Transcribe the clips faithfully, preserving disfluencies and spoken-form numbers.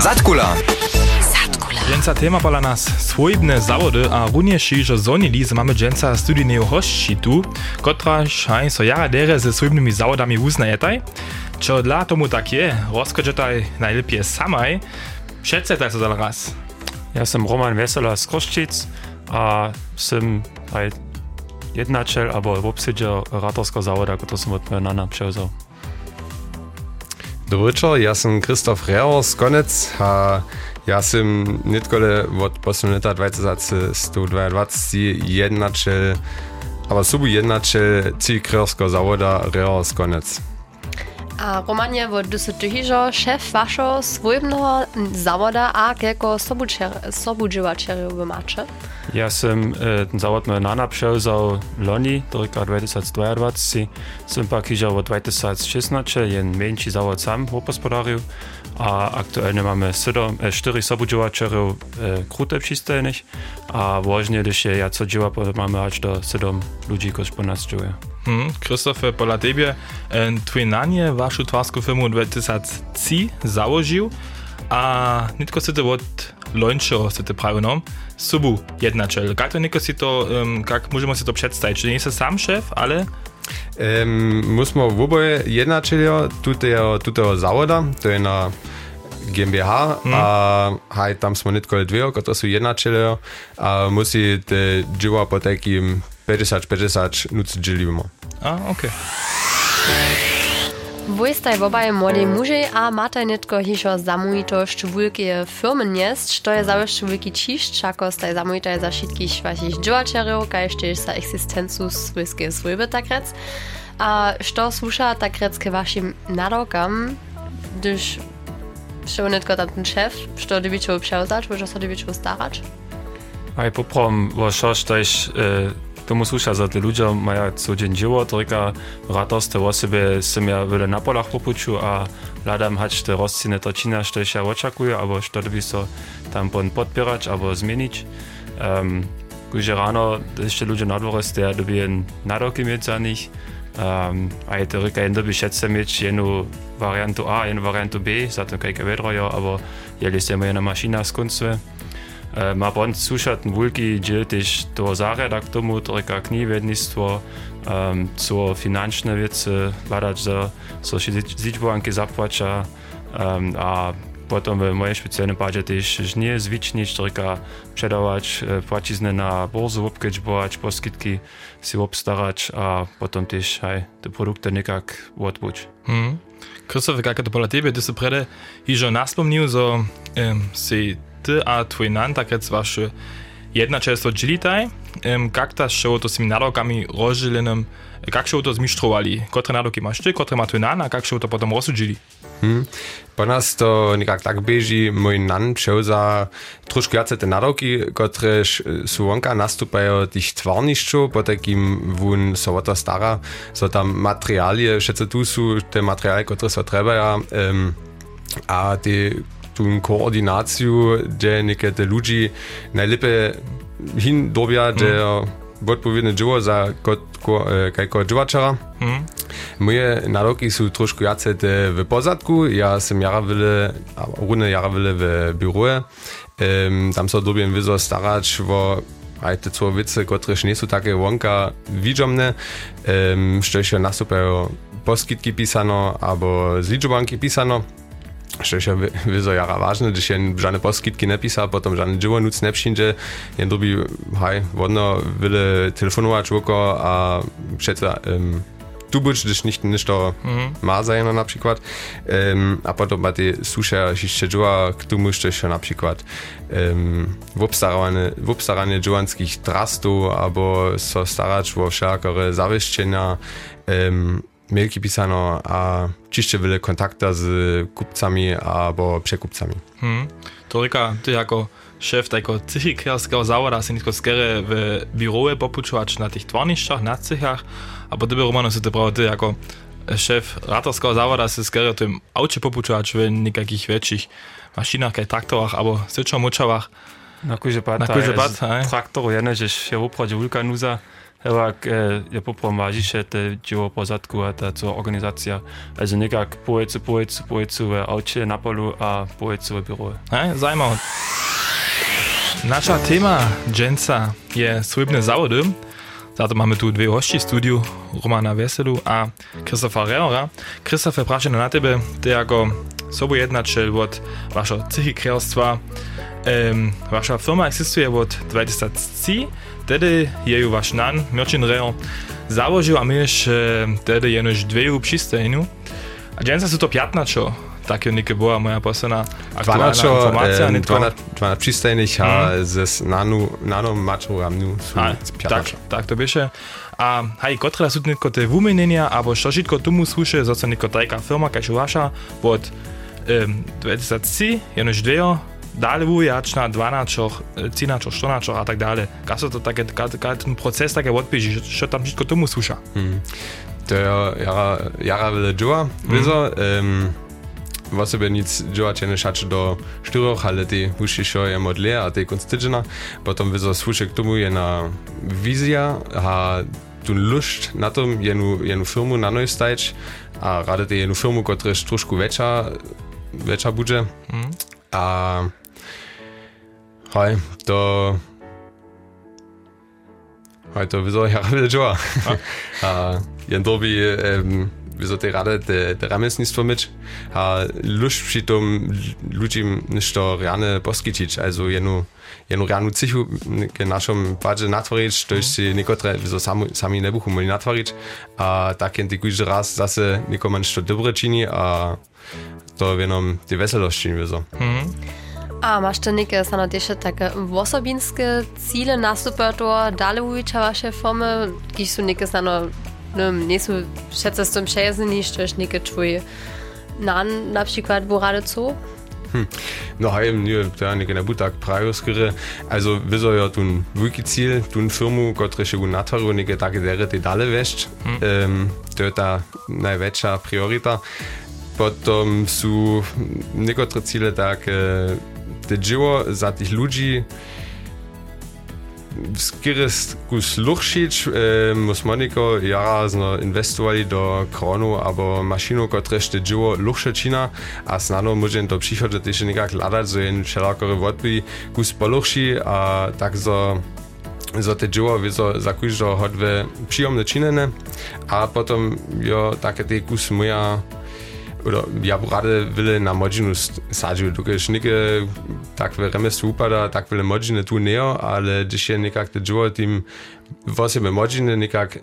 Zatkula. Dżęca tema pola nas swojbne zawody, a również że zonili, że mamy dżęca studijnego hości tu, kotraż haj so jara dere ze swojbnymi zawodami uznajetaj. Čo dla tomu tak je, rozkażetaj najlepiej samaj. Przedstawiaj to za raz. Ja jestem Roman Wesela z Kroszczyc, a jestem jednaciel albo obsiedziel ratorskiego zawoda, który som od mojego przewzał. Dobry wieczór, ja jestem Krzysztof Reher z Konec, a ja jestem nitkole od posledného leta dwa tysiące sto dwadzieścia jednaciel, ale subu jednaciel cikrerskiego zawoda Reher z Konec. A Romanie, wo du tyhižo šéf vašo svojbného zawoda a kelko sobudživačerov vy máte? Ja som e, ten zawod mojego nana przewzał loni, do roka dwa tysiące dwadzieścia. Som pak hižo od dwa tysiące szesnaście, jen menší zawod sam hospodarił, a aktualnie mamy cztery sobudživačerov e, krute přistojných, a właśnie, když je ja co działa, mamy aż do siedem ludzi, którzy po nas działa. Hmm, Krzysztof, pola tebie, twój nanie waszą twarską firmu dwa tysiące trzy założył, a nitko si to od lońszego si to prawie nam, subu jednaciel. Jak to nitko si to, um, jak możemy si to przedstawić? Czy nie jest sam szef, ale... Um, musimy oboje jednaciele tutego, tutego zawoda, to jest na G m b H, hmm. a haj, tam smo nitko dwie, które są jednaciele, a musi te działa po takim päťdesiat päťdesiat nuci dzielimy. A, okej. Okay. Wy staj obaj młodej muži a máte netko hišo zamujitošť wulkie firmy niesť, to je zawsze wielki ciszcz, ako staj zamujitaj za všetkých vašich dživačerov, kajž tiež sa existencu svojskej svojby tak rec. A što sluša tak rec ke vašim nadokam, když šo netko tam ten šéf, što dybičo převzať, možno sa dybičo starać? Aj poprom, wo šoš, tož tomu sluša za te ľudia majú codziennie dzieło, tylko ratorstwo o sobie som ja wiele na polach popuču a hľadám hać te rozcine točina, što ja očakuję, albo što by so tam pon podpierać, albo zmienić. Um, Když ráno ešte ľudia na dvore ste, doby jen nadoky mieć za nich. Um, a je to rika jen doby šetce mieć jednu variantu A, jednu variantu B, za to kajka vedrojo, albo jeli ste jedna mašina z koncve. Ma bond slušat wulki dziel też do zarada k tomu, trika knivednictwo, um, co finančne wiece, badać, że so zidźbowanki zapłaca, um, a potom w mojej specjalnej padzie też nie zwicznić, trika przedawać, płacizny na borzu obkedźbować, poskitki si obstarać, a potom też hej, te produkty nikak odbuć. Hmm. Krzysztof, jak to pola tebe, ty se prede hižo naspomnił, że um, si ty a twój nan tak rec wasze jednačelstvo džilitaj, um, jak ta show to s tymi nadokami rozdzielenym, jak show to zmistrowali? Kotre nadoki masz ty, kotre ma twój nan, a jak show to potem rozdzielili? Hmm. Po nas to nikak tak beži, mój nan převza trošku jace te nadoki, które su wonka nastupają tych twarnišću, po takim wun so to stara, so tam materialie, všetce tu su te materialie, które so trebaja, um, a te tu koordinaciju, gdzie niekedy ludzi najlepiej hin dobia, gdzie mm. odpowiednie dzieło za kajko dživačera. Mm. Moje nadoki są troszkę jace te w pozadku, ja sam jara wyle, runę jara wyle w biurze, um, tam so dobien wyzo starać, wo aj te co wice, które nie są takie wonka widzomne, um, što jeszcze nastupają poskitki pisano, albo zliczbanki pisano. Što je vyzo jara vážne, když jen žádné poskytky nepísal, potom žádné dživo nuc nepřinže, jen doby, haj, vodno vyle telefonovat voko a přece um, tu buď, když nicht nešto mm-hmm. má zajeno například, um, a potom ba ty suše ještě dživa k tomu, što je například um, v obstaranie dživanských trastů, abo so starač vo všakore zavěštěna, um, mailki pisano a čišće wiele kontakta z kupcami albo przekupcami. Hmm. To rika, ty jako szef tego cychikerskiego zawoda si nitko skere w biurze popučovač na tych twarnišćach, na cychach, a po tebe Romano si to prawo ty jako szef ratorskiego zawoda si skere w tym aucie popučovač w nikakich większych maszynach, kaj traktorach, albo syčo močavach. Na kuže pat, na kuže pat, traktoru, jene, že je opravdu wulka nuza, jak je poprom wažiše te dzieło pozadku a ta co organizacja. Also nekak pojecu, pojecu, pojecu w aucie na polu a pojecu w biuro. Hej, zajímavé. Nasza tema dženca je swybne zawody. Zato mamy tu dwie hości w studiu, Romana Weselu a Christopha Reora. Christopher, prašam na tebe, ty jako sobojednačel od vašho psychikrelstva. Um, vaša firma existuje od dwa tysiące trzy, tedy je ju vaš nan, Mirčin Reor, założył, a myš tedy jenož dveju přistajnu. A dženca su to piatnačo. Tak je neke była moja posledná aktuálna informácia. dvanásť přistajných a ze nanu, nano mačou a mnu sú tak, tak to bieše. A hej, kotre sú netko te vumenenia, alebo što žitko tomu sluše, zoca netko tajka firma, kaž vaša, od um, dwa tysiące trzy, jenož dvejo, dále vujačná, dvanáčoch, cínačoch, štonáčoch a tak dále. Kaj so to také, kaj ten proces také odbieži, što tam žitko tomu sluša? Hmm. To je jara, jara vele džova, vizo, um, v osobe nic džovače ne šače do štyroch, ale ty ušišo je modlé a ty konc týdžena. Potom vizo sluše k tomu je na vizia a tu lušť na tom jenu, jenu firmu na noj stajč a rade ty jenu firmu, kotrež trošku väčša, väčša budže. Mm. A hej, to hej, to vizo jara vele džova. A jen dobi um, wieso te rade te, te ramesnictwo myć, a luść przy tym ludziom ništo realne poskičić, also jenu, jenu realnu cichu k naszym wadze natworić, to jest si niekotre, wieso sami, sami ne buchu mogli natworić, a tak jen ty kujże raz zase nikomu ništo dobre čini, a to jenom ty weselości, wieso. Mhm. A masz te neke stano jeszcze takie osobinskie cele nastupator, dalej ulicza wasze firmy, gdzieś są neke stano no, nie są wszyscy z tym przyjaźni, że jest niekie twój nan na przykład borade co? Hm. No hej, nie, to ja nie bu tak prawie skryre. Also, wieso ja tun wielki Ziel, tun firmu, które się u natwaru, niekie takie dere, te dalej weszć. Hm. Um, to jest ta największa prioryta. Potom są niektóre cele takie, te dzieło za tych ludzi, skieres kus luchšič, e, mus moniko jarazno investovali do kronu abo mašinu, kotrež te dživo luchše čina a snadno môžem to přichodže tež nekak hľadať, zo jen všelakore odby kus poluchši a tak zo zo te dživo vizo za kúžo hodve příjomne činene a potom jo také te kus moja oder ja rade wille na modzinu sadził, dokeż nike takwe remesło upada, tak wille modziny tu neo, ale dzisiaj nekak te dżuo tym wosebe modziny nekak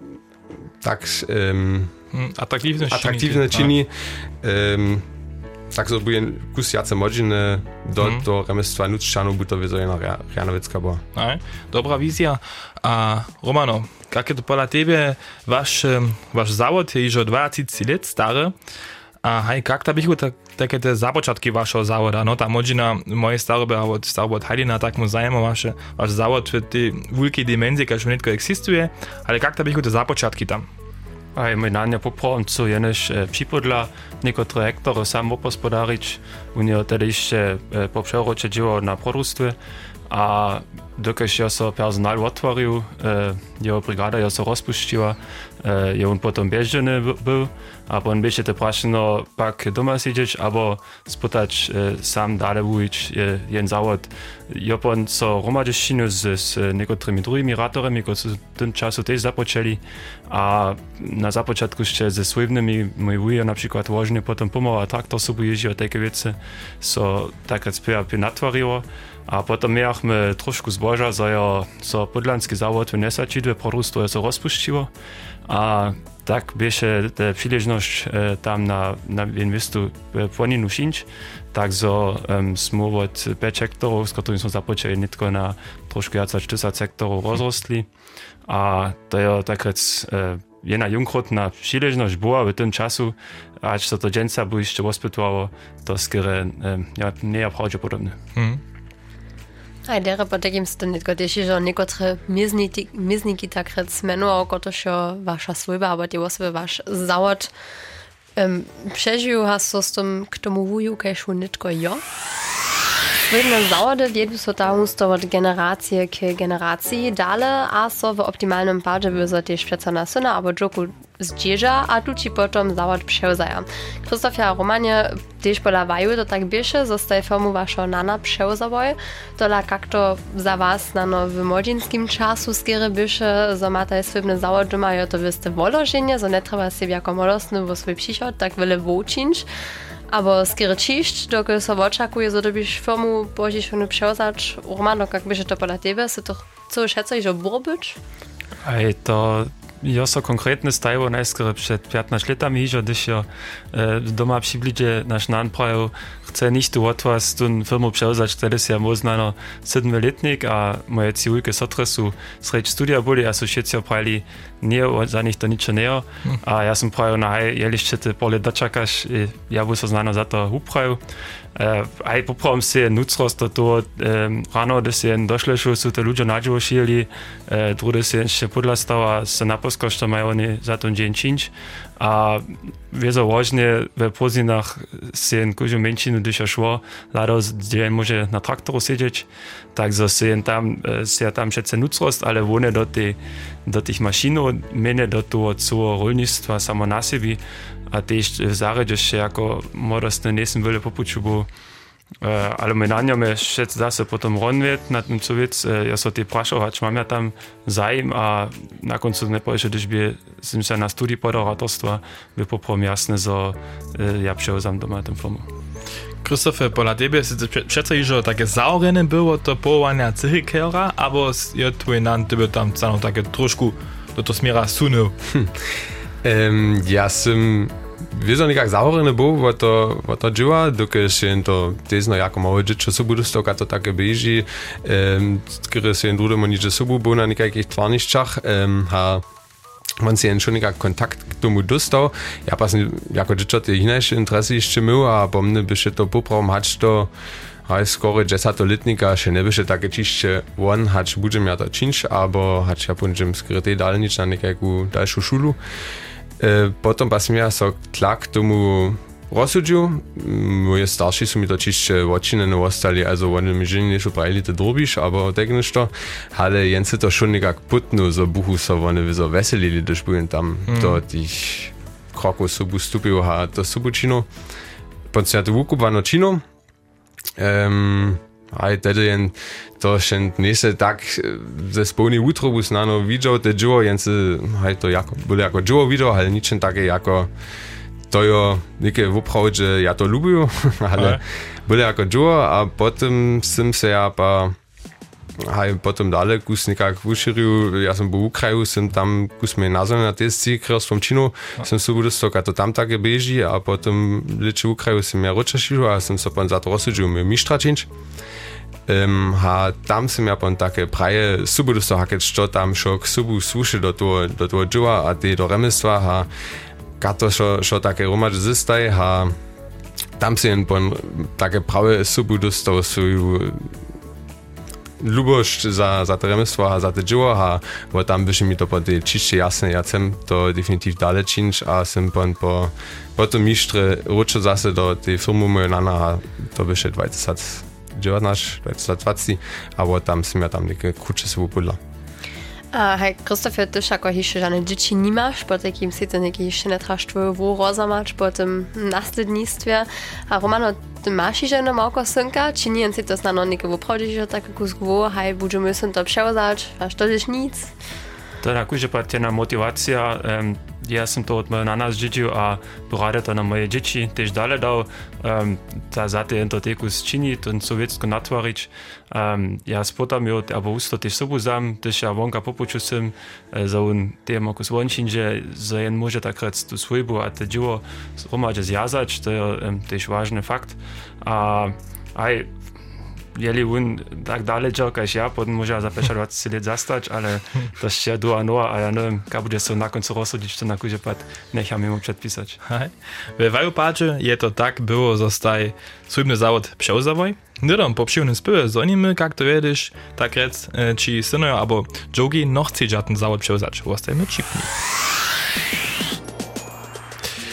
tak um, atraktivne atraktivne čini, um, tak so bude kus jace modziny do hmm. to remestwa nuččanu, bu to wieso jedna Rianowicka była. Aj, dobra wizja. A Romano, jak je to pola tebe, wasz, wasz zawod je już dwadzieścia lat stary. A hej, jak ta bychu tak, takie te započatki vašeho závoda, no ta modzina moje starobe, a od starobe od Heidina, tak mu zajemo vaše, vaš závod v tej veľkej dimenzii, keď všetko existuje, ale jak ta bychu te započatki tam? Aj mój nania poprawam, co jenež e, připodla niektóre hektary sam opospodarić, u niego tedy jeszcze e, po przerocze dzieło na produkstwie, a dokež ja so personal otworil, e, jeho brigada ja so rozpuściła, e, je on potom bieženy był, a on bieže te prašeno pak doma siedzieć, albo spotać e, sam dalej wujić e, jen zawod. Ja on so romadeščinu z, z niektórymi drugimi ratorami, którzy w tym czasu też zapoczęli, a na započatku jeszcze ze swojnymi mój wujo na przykład łożnie potom pomogła traktor sobie jeździł, a takie wiece so tak jak spiewa natwariło. A potom mieliśmy troszkę zboża, za ja so podlanski zawód w Nesačidve produktu so rozpuściło, a tak bieše te przyleżność e, tam na, na inwestu e, płoninu šińć, tak so um, smo od pięć hektarów, z którymi są zapoczęli nitko na troszkę jaca cztyřicet hektarów rozrostli, a to je tak rec e, jedna junkrotna przyleżność była w tym czasu, aż so to dżęca by jeszcze rozpytwało, to skiery e, ja, nie prawdopodobne. Hmm. A dere potem ste netko teši, že nekotre mizniki takrat smenujú, kotožo vaša svojba, alebo tie osobe váš závod um, prežijú, a so s tom k tomu vujú, kajšu netko jo? Swojne zawody wiedu so ta husto od generacije k generacji dale, a so w optimalnym padzie wyzo też przeco na syna albo dżoku zdzieża, a tu ci potom zawod przewzaja. Krzysztofia Romanie też polawaju, to tak biesze, zostaje firmu waszo nana przewzawoj, tola jak to za was nano w młodzieńskim czasu skiery biesze, zo mataj swojne zawody mają to wyste wolożenie, zo nie trzeba sobie jako młodostny w swój przychod tak wiele włóczyć. Aber skiery čišć, dokud so očakuje, so dobiš firmu božiš onu převzać, Romano, jak byže to podľa tebe, si to co šeca, že borbyč? Aj to jo so konkretne stajło najskoro przed piętnastu latami hižo, když jo e, doma přibliže naš nan prajo, chce nicht tu od vás tu firmu převzać, wtedy si ja moznano sedmletnik a moje ciulke sotre su sreč studia boli a su všetci oprali nie, za nich to ničo neo. A ja som prajo na hej, jelište te pole dočakaš, ja bu so znano za to upraju. Uh, aj popravom si je nucrost do toho um, rano, da si jen došle, što su te ľudia nadživo šili, uh, drugi si ešte podľa stava se naposko, što majú oni za to džen činč. A wieso ważne w pozinach si jen kužu menšinu, když je šlo, lado, gdzie może na traktoru siedzieć, takže si jen tam, si ja tam všetce nucrost, ale one do, tej, do tých mašinov, mene do toho celého rolnictva samo na sebi, a też w zaredzie się jako młodostny nie są wiele popuczu, bo e, ale my na nią jeszcze zase potom ronwiet na tym co wiec, e, ja so ty praszować, mam ja tam zajem, a na końcu nie powiem, że gdyż by jsem się na studii podaratorstwa, by poprom jasne, że e, ja przełzam doma tę firmu. Krzysztofie, pola tebe si přece jižo takie zaorene było to powołania cychykera, albo je twój nan tebe tam cano takie troszkę do to smiera sunął? Hm. Um, ja som wieso nikak zahorený bol, bo to, bo to dživa, dokud si to tezno jako malé džičo sobu dostal, a to také beží, um, kedy si jen drudemu niče sobu bol na nikakých tvarnišťach, um, a on si jen schon nikak kontakt k tomu dostal. Ja pa som jako džičo tie inejšie interesy ešte mil, a po mne by še to popravom hač to aj skoro desato-letnika še ne by še také čišće on hač budem ja to činč, abo hač ja budem skrytej dalnič na nekakú dalšiu šulu. E, potom pa som ja so tlak tomu rozsudžil. Moje starší sú mi to čišće odčinene ostali, also oni mi ženi nešo prajili to drobiš, abo tak nešto. Ale jen si to šon nekak putnu, so buchu so oni so veselili, když budem tam mm. do tých krokov sobu stupil a to sobu čino. Potom som ja to vukupano čino. Um, aj tedy jen to še nese tak ze spolný útrobu snano videl, te dživo, jen si aj to jako, boli jako dživo videl, ale ničem také jako to jo neke voprawd, že ja to lubiu, ale boli jako dživo a potom som se ja pa aj potom dále kus nekak uširil, ja som bol v Ukraju, som tam kus me nazvali na testy krstvom činu, som sa budol stok, a to tam také beží, a potom leče v Ukraju som ja ročašil a som sa pon za to rozsudžil mi mištra činč. Um, a tam som ja pon také praje subu dostal, hakeť, čo tam šo k subu slušil do toho, do toho dživa a tie do remestva a kato šo, šo také romač zistaj a tam si jen pon také prawe subu dostal svoju lubość za, za to remesło, a za to dzieło, a bo tam by się mi to po tej čišće jasne, ja chcem to definitiv dalej činč, a sem pon po, po to mištre ručo zase do tej firmy moje nana, a to by się dwadzieścia dziewiętnaście, dwadzieścia dwadzieścia, a bo tam sem ja tam neke kruče se upodla. A hej, Krzysztofie, ty jako jeszcze żadne dzieci nie masz, po takim si to niekie jeszcze nie trasz twoją rozamać po tym następnictwie. A Romano, ty masz jeszcze jedno małko synka, czy nie si to znano niekie woprawdzie, że tak kusku, hej, będziemy syn to przełzać, a to jest nic? To tak už je patjena motivacija. Um, ja som to od mojej nana zdziedzil a porade to na moje dzieci też dalej dał. Um, ta zate jen to teku zčini, to sowiecko natvarič. Um, ja spotam jo, abo usto też sobu zam, też ja wonka popuču sem, za un tem okus vončin, že za jen može takrat tu svojbu a te dživo romadže zjazać, to je um, też ważny fakt. A aj jeli on tak daleko, kaž ja, potom môže za päťdesiat let zastať, ale to ešte do a no, a ja neviem, keď bude sa na koncu rozsúdiť, čo na kúže pad nechám mu predpísať. V Vajopáče je to tak, było zostaj svojbny závod převzavoj. Nidom po přivnym spyve zonimy, jak to wiedziesz, tak rec, či synojo abo dżogi noch chce ten závod převzać. Ostajmy čipni.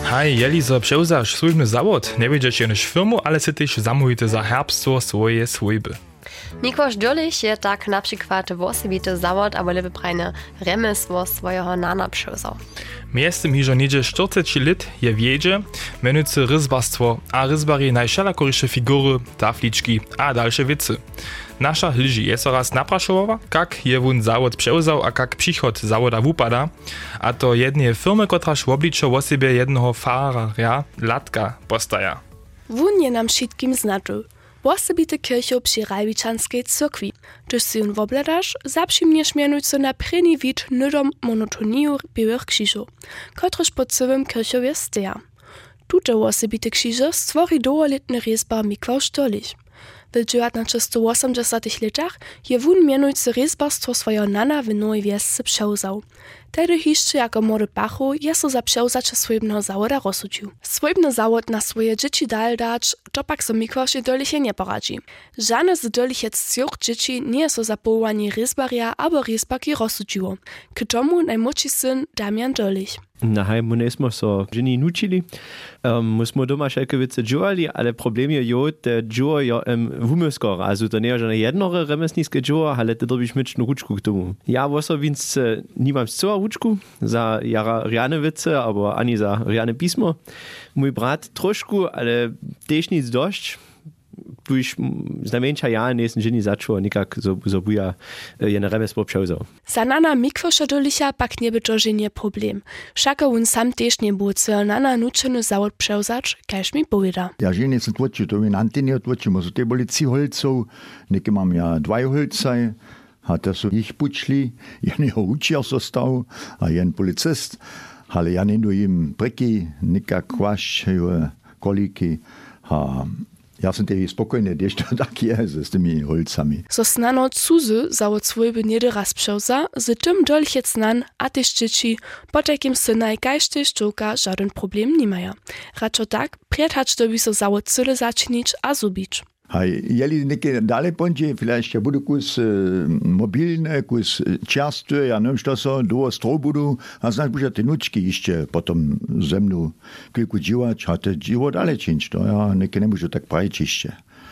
Hej, jeli zo převzaš słužbny zawód, nie wiedzieć jenož firmu, ale si tyž zamówite za herbstwo swoje swojby. Nikłaż Dürlich je tak na przykład wosebity zawód, aber lewy prajne remesło swojego nana przewzał. Miestem hižo niedzie czterdzieści lat je wiedzie, menujcy ryzbarstwo, a ryzbari najszalakorysze figury, tafliczki a dalsze wicy. Nasza liži je so raz naprašovala, kak je wun zawód przewzał, a kak przychod zawoda wupada, a to jednej firmy, kotraż w obliczu o sobie jednego farera, latka, postaja. Wun je nam wszystkim znaczył. Wosebite kircho przy Rajbičanskej cyrkwi. Gdyż si on wobledasz, zaprzymniesz mianujco na prynny wid nydom monotoniju białych krzyżów, kotryż po całym kirchowie steja. Tute wosebite krzyże stwori dołoletny rezbar Mikłaż Dürlich. W dziewiętnaście osiemdziesiątych latach je wun mianujcy rezbarstwo swojego nana w Nowej Wiesce przewzał. Tedy jeszcze jako młody pachu je so za przewzacze swojbnego zawoda rozsudził. Swojbny zawód na swoje dzieci dal dać, to pak so Mikłażie Dürliche nie poradzi. Żadne z Dürlichec cioch dzieci nie so za powołanie rezbaria albo rezbarki rozsudziło. K tomu najmłodszy syn Damian Dürlich. Nahaj, my nesmo so ženi nučili. Um, my smo doma šelke vice džuvali, ale problem je jo, te džuva jo um, vumyskor. Also to nie je žene jednore remesniske džuva, ale te dobiš myčnu ručku k tomu. Ja osobic nimam zcela ručku za jara riane vice, abo ani za riane pismo. Mój brat trošku, ale tež nic dość. Tuž znamenča ja nesem ženi začuo nikak zobuja jene remesło przewzał. Za nana Mikłaża Dürlicha pak nie by to ženie problem. Všako on sam tež nie był cel nana nučeny zawód przewzać, kaž mi powieda. Ja ženi sem tvočil, to mi nanti nie tvočimo, so te boli trzy holcov, neke mam ja dvaj holcaj, a te so jich pučli, jeneho učiar został, a jen policist, ale ja nendu im preky, nikak kvaš, koliki, a ja sam tebi spokojny, gdyż to tak jest z tymi holcami. So snano cuzy zawód swojby niedy raz przewza, z tym Dürlichec nan, a też dzieci, po takim synaj kaž też czołka żaden problem nie mają. Raczo tak, prietacz dobi so zawód cyle zaczynić a zubić. Hej, jeli neke dalej pądzie, vielleicht ja budu kus e, mobilne, kus čerstve, ja neviem, što so, dvo stroj budu, a znaš buža te nučki ještě potom ze mnou kilku dživač, a te dživo dalej činč, to ja neke ne můžu tak praviť ještě.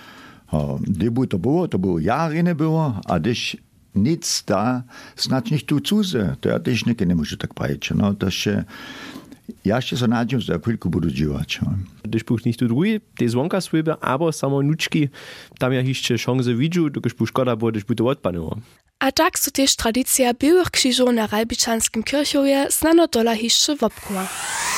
Kdy by to bylo, to bylo jary nebylo, a když nic da, snad nicht tu cuze, to ja tež neke ne můžu tak praviť, no, to še, ja jeszcze so nadzieję, że chwilkę budu dziwać. Gdyż buch nicht tu drugi, te zwonka swojby, aber samo nuczki, tam ja jeszcze szanse widziu, gdyż buch szkoda było, gdyż by to odpanowało. A tak so też tradycja białych krzyżów na Rajbičanskim kirchowie znano dola jeszcze wopkuła.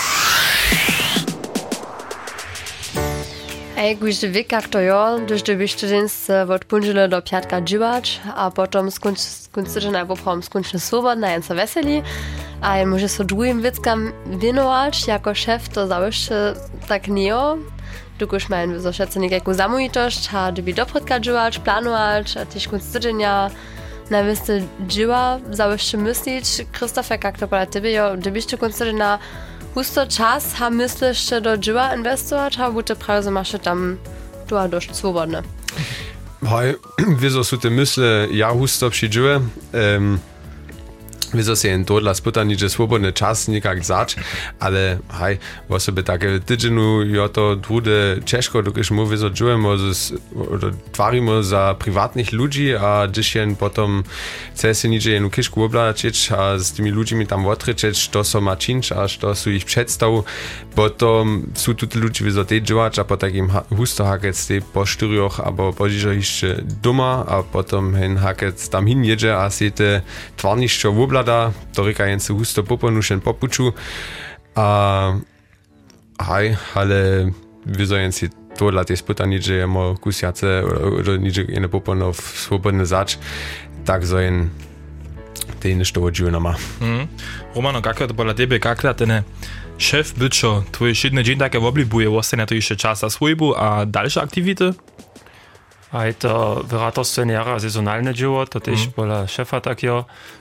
Ej, gdyż wiek jak to jo, gdyż dobyś tydzień od punżele do piatka dziwać, a potem skończyć na poprom skończyć swobodna, jen so weseli, a jen może so drugim wickam winować, jako szef to załyszczy tak nie jo, dokud mają so wszyscy niekajku zamówitość, a doby dopredka dziwać, planować, a też końc tydzienia na wysty dziwa załyszczy myślić. Krzysztofie, jak to pola tebe jo, dobyś ty końc tydzienia husto czas, a myślisz do dziwa inwestować, a buty prawie masz tam tu dość swobodne. Hej, wieso sú te mysle, ja husto přiđuje, um, wieso se jen tohle spytani, že swobodny czas nikak zač, ale hej, o sobie takie tydzienu, jo to drude ciężko, dokiż mu wieso dżujemo, twarimo za prywatnych ludzi, a gdyż jen potom chce se nicze jenu kiszku oblačić, a z tymi ludźmi tam otryczeć, to so ma činč, a to su ich przedstaw, potom su tuti ludzi wieso te dżuwać, a po takim husto hakec te po štyrioch, abo požižo jeszcze doma, a potom hen hakec tam hin jedzie, a se te twarnišćo oblačić, to reka jen se husto poponušen popuču. A haj, ale wieso jen si tohle te spytani, že jemo kusjace, oder niče jene poponov svobodne zač, tak so jen te nešto odživu nama. Mm. Romano, kako to pola tebe, kako ten šef byčo, tvoj šedny dzień také oblibuje, ostane to jeszcze czas za swojbu a dalsze aktivity? A je to v ratorstve jara sezonálne dživo, to tež mm. pola šefa takiego.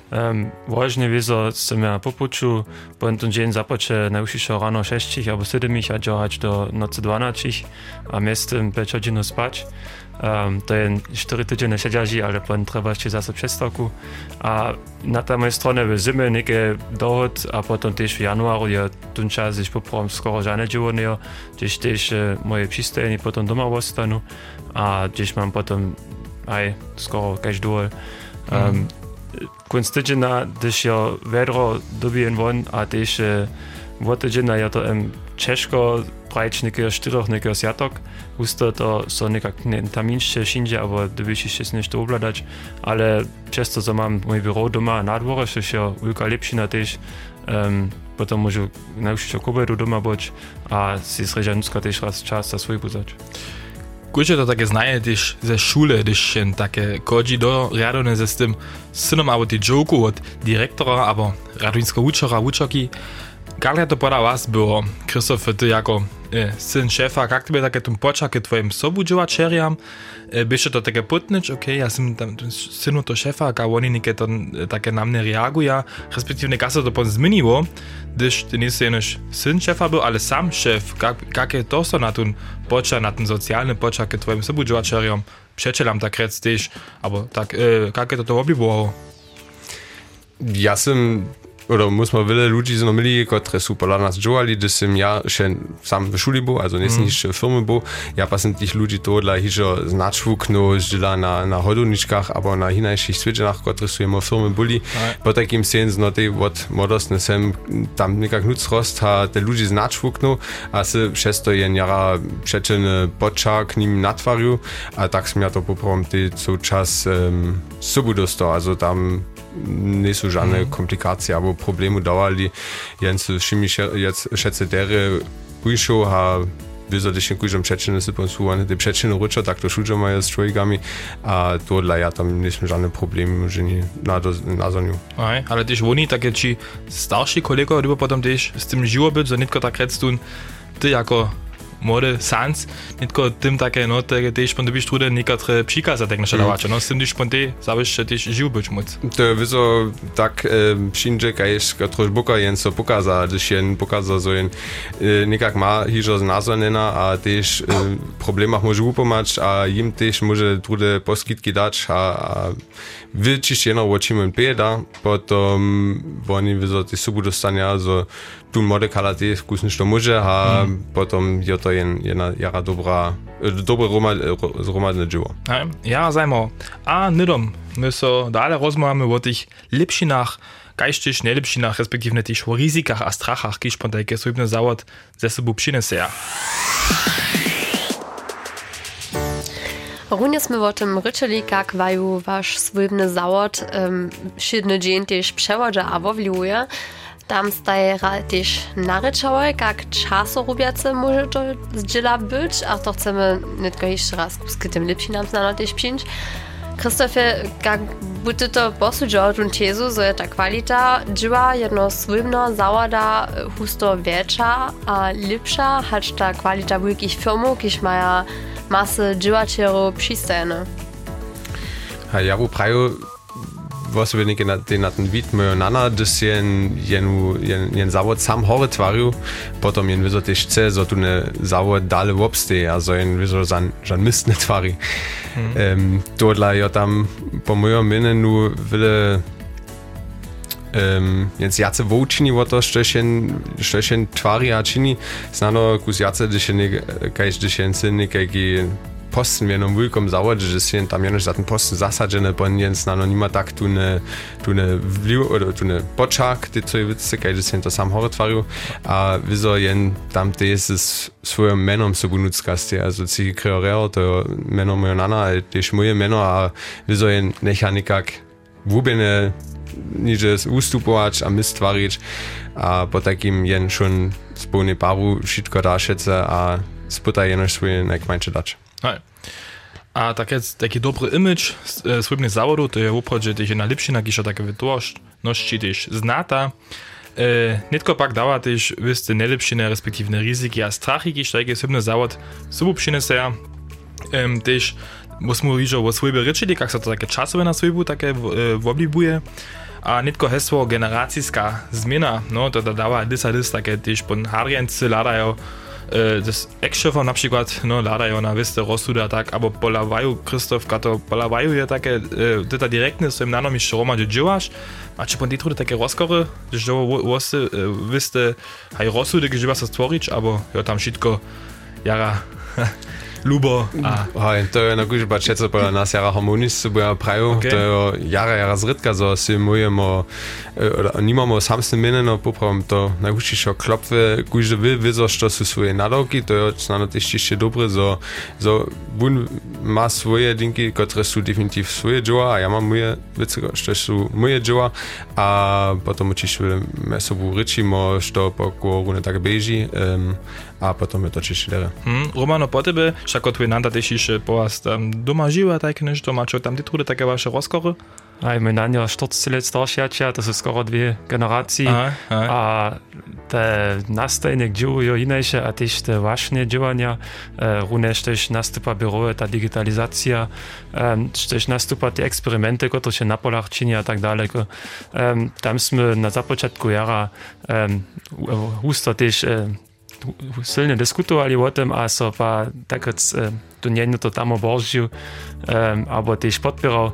Um, Ważne wiezo jsem ja popuču, bo ten dzień započe najúšišo rano šestich albo siedmich a działać do nocy dvanastich a miestem päť hodin spać. Um, to je čtyři týdny siedziaži, ale potom treba ešte zase přestávku. A na tej mojej strane v zime nejaké dohod a potom tiež v januáru je ten čas, když poprvom skoro žádne životného, když tiež moje přistajení potom doma ostanu a když mám potom aj skoro každý dôl. Um, Konc týdžena, když je vedro dobien von a tiež od týdžena je to um, Češko, prajč nekého štyroch, nekého sjatok. Husto to so nekak tamínšie všinže, alebo dobyšište si nešto ovládať, ale často to mám môj byró doma na dvore, že je veľká lepšina tiež. Um, potom môžu najúšišo k obedu doma boť a si srežanúcka tiež raz čas za svoj pozať. Kurczę to takie znaje też ze szule, gdyż się takie kodzi do riadone ze z tym synom albo ty joku od dyrektora albo radowinskiego uczora, uczorki. Jak to poda was było, Krzysztof, ty jako e, syn szefa, jak tobie takie tym poczaki twoim sobu działaczeriam? E, byście to takie putnicz, okej, okay, ja sam tam synu to szefa, a oni niekie to takie na mnie reagują, respektive jak se to pon zmieniło, gdyż ty nie jesteś syn szefa był, ale sam szef, jak je to so na ten poczak, na ten socjalny poczak twoim sobu działaczeriam, przecielam tak rec też, albo tak, e, jak je to to oblibyło? Ja sam oder muss man wiele ludzi znomili, które są pola nas działali, gdy sam ja się sam w szuli był, also nie mm. niż firmy był, ja pa sam tych ludzi to dla hiżo znaczwuknu, zdziela na, na hodowniczkach, albo na innych świetzenach, które są jemu firmy byli, po takim sens, no tej od młodostny sam tam niekak nuc rost, ha te ludzi znaczwuknu, a se przez to jen jara przeczynny poczak nim natwarił, a tak sam ja to poprawam, ty co czas um, subu dostał, also tam nie są żadne mm. komplikacje albo problemy dawali, więc wszyscy jetzt schätze dere pójszą, a wyzodnie kujżą przeczynne sypą słuchane, te przeczynne rucze, tak to szudzą mają z człowiekami, a to dla ja tam nie są żadne problemy, że nie na, na zoniu. Aj, ale też oni takie ci starsi kolego, chyba potem też z tym żyło być, że nie tylko tak redstun, ty jako młody sans, nie tylko tym takie, no, te też pan dobisz trudy niektóre przikazy tak nasze dawacze, no, z tym też pan te zabisz, że też żył być móc. To wyzo tak wszędzie, kajesz trosz buka jen so pokaza, gdyż jen pokaza, że jen niekak ma hiżo znazonena, a też problemach może upomać, a im też może trudy poskitki dać, a wyczyszczeno oczima bieda, potom oni wyzo te subu dostania, że tu młody kalate wkusny to może, a mm. potom je to jen jedna jara dobra, dobre zromadne dzieło. Ja, zajmo. A nydom, my so dalej rozmawiamy o tych lepszynach, kajsztyż najlepszynach, respektive też o ryzykach a strachach, kiż pan takie słybny zawód ze sobą przyniesie. Runie sme o tym ryczeli, jak waju wasz słybny zawód um, szydny dzień też przewodza a wowliuje. Tam staje też naryczałe, jak czasorubiace może to zdziela być, a to chcemy nie tylko jeszcze raz z tym lepsi nam znano też przyjąć. Krzysztofie, jak by to posłudziło tą tezu, że ta kwalita dzieła jedno słybno zawada husto większa a lepsza, choć ta kwalita wielkich firmów, kiż mają masy dziełaczerów przystajne. A ja bu praju was wir nicht den na ten wid my nana, dass jen jen jen jen zawod sam hore tvariu, potom jen wyzo też chce, so tu ne zawod dale wobste, also jen wyzo san jan mist ne tvari. Ähm dort la ja tam po mojem minne nu wille ähm jetzt jace wočini wo to stöchen stöchen tvari a čini, znano kus jace de ne kaj de jen sin ne kaj posten wir noch willkommen sauer, dass wir tam jenoś za ten posten zasadzene, bo jens na no nima tak tu ne tu ne vliv oder tu ne poczak, ty co widzę, kaj że to sam horytwariu, a wieso jen tam te jest swoim menom so benutzkaste, also ci kreoreo to meno mojana, ale też moje meno, a wieso jen necha nikak wubene niže ustupować, a my stvarić, a po takim jen schon spolny paru wszystko daszece, a sputa jenoś swoje najkmańsze dać. A takie, taki dobry image swojego zawodu, to jest uprodzie też na lepszina, kisza takie wytłoczności też znata. E, nie tylko pak dała też wysty najlepszine, respektive ryzyki a strachy, kisz taki swojny zawód sobą przyniesie. E, też musimy mówić o swojej ryczyli, jak się to takie czasowe na swojbu takie woblibuje. a nitko hesło generacijska zmiana, no to dodała dysa dys takie też pon harjency ladają das Ex-Schiffer na przykład, no ladają na wiste rozsuda tak, aber polawają Krzysztofka to polawają je takie, to direktne swoim nanom jeszcze Roma dziełasz, a czy pon ditrude takie rozkory, że wosy wiste haj rozsudy gdzie was stworzyć, albo ja tam wszystko jara lubo a hej, to je na górze baczece po nas jara harmonisty bo praju, okay. To jara jara zrytka, so si mujemo nimamo samsne mineno poprawom to najwyższe klopwy górze wy wiedzą, że są swoje nadawki, to jest na też jeszcze dobre, so so bun ma swoje dinki, które są definityw swoje dzieła, a ja mam moje wiece, że są moje dzieła, a potem oczywiście my sobą ryczymy, że po korone tak bieži, um, a potem je to čišće dere. Hmm, Romano, po tebe, šako tvoj nanda tež še poast um, doma živa, tak nešto, mačo tam ty trude také vaše rozkory? Aj, mój nania czterdzieści lat starszy, to są skoro dwie generacje, aha, aha. A te nastajnik dziełują inaczej, a też te właśnie działania, e, również też nastupa biurowe, ta digitalizacja, e, też nastupa te eksperymenty, które się na polach czyni a tak dalej. E, tamśmy na zapoczątku jara e, husto też e, silnie dyskutowali o tym, a so pa tak jak e, to nie to tam oboržił, um, albo też podpierał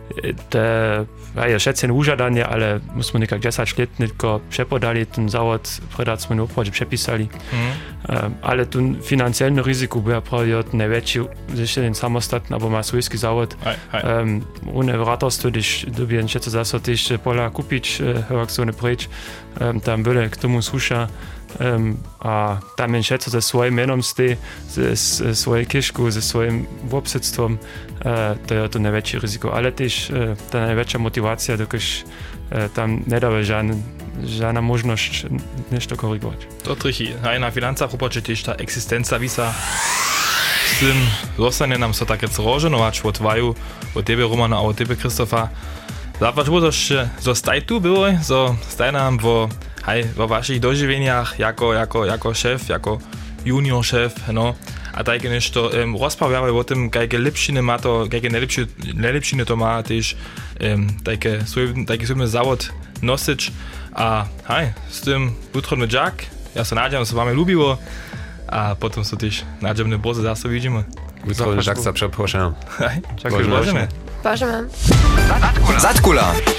te, ja schätzen użadanie, ale musimy niekak dziesięć lat tylko przepodali ten zawód, predacmy opłacie przepisali. Mm. Um, ale tu finansielne ryzyko było prawie największy, jeszcze ten samostatny, albo ma swojski zawód. Um, ohne ratarstwo, gdyż dobiję schätze zase też pola kupić, jak so nie precz, um, tam były k tomu susza. Um, a tam schätze ze swoim menom stej, ze, ze swojej kieszku, ze swoim obsedztwom, uh, to jest to największe ryzyko. Ale też uh, ta największa motywacja, dokaż uh, tam nie daje żadna, żadna możliwość nešto korygować. To trichy. A na finansach upaczy też ta egzystencja wisa. Z tym zostanie nam so takie zrożenować od waju, od tebe Romana, a od tebe Krzysztofa. Zapraszam, bo to zostaj tu było, so staj nam wo hej, vo vašich doživeniach jako, jako, jako šéf, jako junior šéf, no. A také nešto um, rozprawiamy o tym, jakie lepšiny má to, jakie najlepšiny to má tiež um, také svoj, taký svoj závod nosič. A hej, s tym utrodný džak, ja sa nádem, že sa vám ľúbilo a potom sa tiež nádemne boze zase vidíme. Utrodný džak sa przeproszę. Hej, ďakujem. Božeme. Božeme. Zatkula.